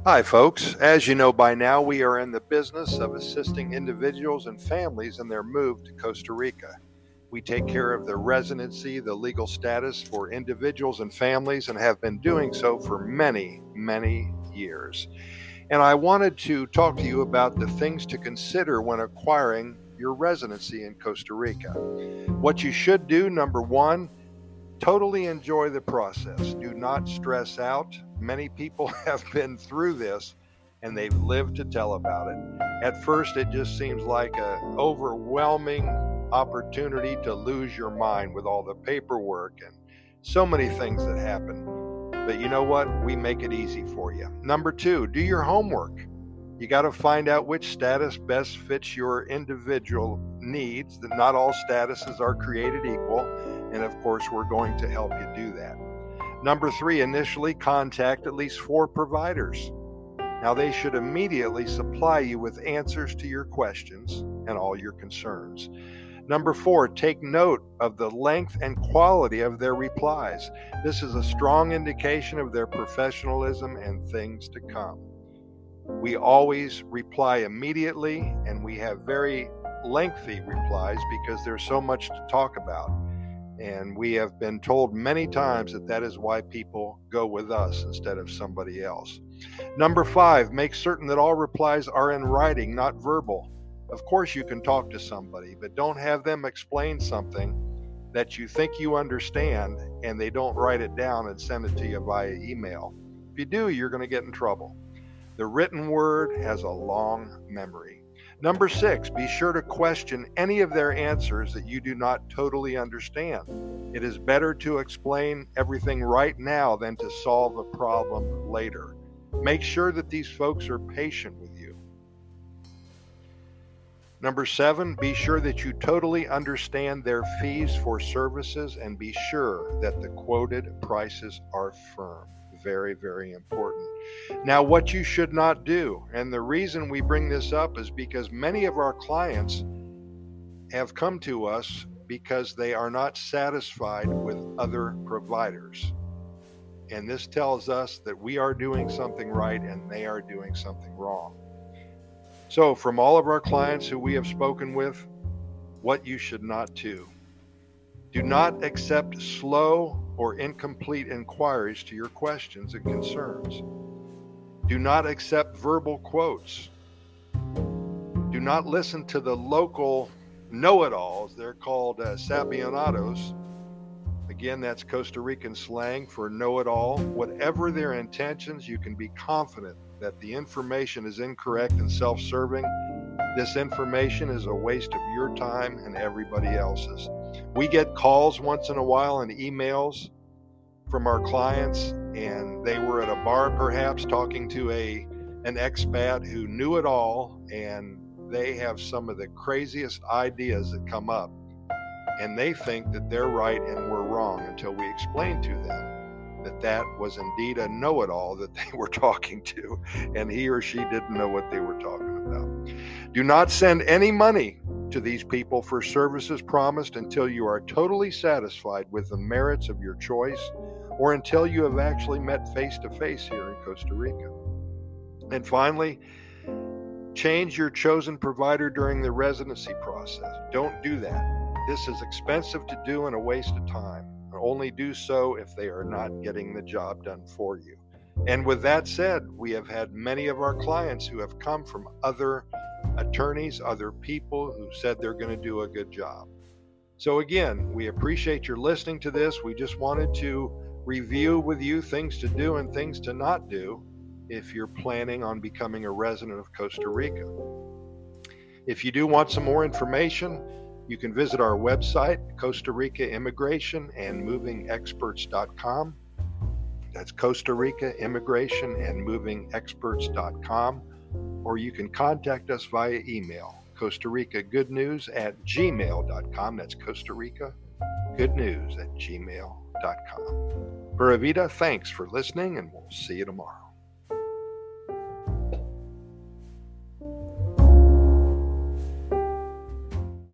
Hi, folks. As you know by now, we are in the business of assisting individuals and families in their move to Costa Rica. We take care of the residency, the legal status for individuals and families, and have been doing so for many, many years. And I wanted to talk to you about the things to consider when acquiring your residency in Costa Rica. What you should do, number one, totally enjoy the process. Do not stress out. Many people have been through this and they've lived to tell about it. At first, it just seems like an overwhelming opportunity to lose your mind with all the paperwork and so many things that happen. But you know what? We make it easy for you. Number two, do your homework. You got to find out which status best fits your individual needs. That not all statuses are created equal. And of course, we're going to help you do that. Number three, initially contact at least 4 providers. Now, they should immediately supply you with answers to your questions and all your concerns. Number 4, take note of the length and quality of their replies. This is a strong indication of their professionalism and things to come. We always reply immediately, and we have very lengthy replies because there's so much to talk about. And we have been told many times that is why people go with us instead of somebody else. Number 5, make certain that all replies are in writing, not verbal. Of course, you can talk to somebody, but don't have them explain something that you think you understand and they don't write it down and send it to you via email. If you do, you're going to get in trouble. The written word has a long memory. Number 6, be sure to question any of their answers that you do not totally understand. It is better to explain everything right now than to solve a problem later. Make sure that these folks are patient with you. Number 7, be sure that you totally understand their fees for services and be sure that the quoted prices are firm. Very, very important. Now, what you should not do, and the reason we bring this up is because many of our clients have come to us because they are not satisfied with other providers. And this tells us that we are doing something right and they are doing something wrong. So, from all of our clients who we have spoken with, what you should not do. Do not accept slow or incomplete inquiries to your questions and concerns. Do not accept verbal quotes. Do not listen to the local know-it-alls. They're called sabionados. Again, that's Costa Rican slang for know-it-all. Whatever their intentions, you can be confident that the information is incorrect and self-serving. This information is a waste of your time and everybody else's. We get calls once in a while and emails from our clients, and they were at a bar perhaps talking to an expat who knew it all, and they have some of the craziest ideas that come up, and they think that they're right and we're wrong until we explain to them that was indeed a know-it-all that they were talking to, and he or she didn't know what they were talking about. Do not send any money to these people for services promised until you are totally satisfied with the merits of your choice or until you have actually met face-to-face here in Costa Rica. And finally, change your chosen provider during the residency process. Don't do that. This is expensive to do and a waste of time. Only do so if they are not getting the job done for you. And with that said, we have had many of our clients who have come from other attorneys, other people who said they're going to do a good job. So again, we appreciate your listening to this. We just wanted to review with you things to do and things to not do if you're planning on becoming a resident of Costa Rica. If you do want some more information, you can visit our website, Costa Rica Immigration and Moving Experts.com. That's Costa Rica Immigration and Moving Experts.com. Or you can contact us via email, Costa Rica Good News at gmail.com. That's Costa Rica Good News at gmail.com. Pura Vida, thanks for listening, and we'll see you tomorrow.